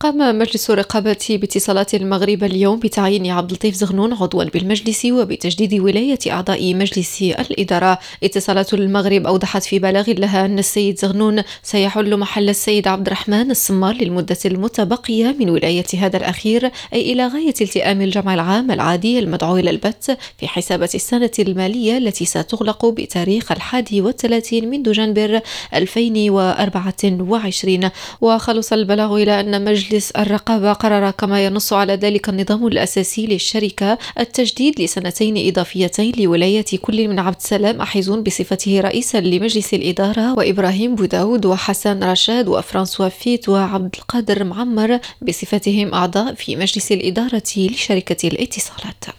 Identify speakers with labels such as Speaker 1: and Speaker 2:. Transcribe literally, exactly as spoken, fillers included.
Speaker 1: قام مجلس الرقابة باتصالات المغرب اليوم بتعيين عبد اللطيف زغنون عضوا بالمجلس وبتجديد ولاية أعضاء مجلس الإدارة. اتصالات المغرب أوضحت في بلاغ لها أن السيد زغنون سيحل محل السيد عبد الرحمن السمار للمدة المتبقية من ولاية هذا الأخير، أي إلى غاية التئام الجمع العام العادي المدعو إلى البث في حسابات السنة المالية التي ستغلق بتاريخ الحادي والثلاثين من دجنبر ألفين وأربعة وعشرين. وخلص البلاغ إلى أن مجلس الرقابة قرر كما ينص على ذلك النظام الأساسي للشركة التجديد لسنتين إضافيتين لولاية كل من عبد السلام أحيزون بصفته رئيسا لمجلس الإدارة، وإبراهيم بوداود وحسن رشاد وفرانسوا فيت وعبد القادر معمر بصفتهم أعضاء في مجلس الإدارة لشركة الاتصالات.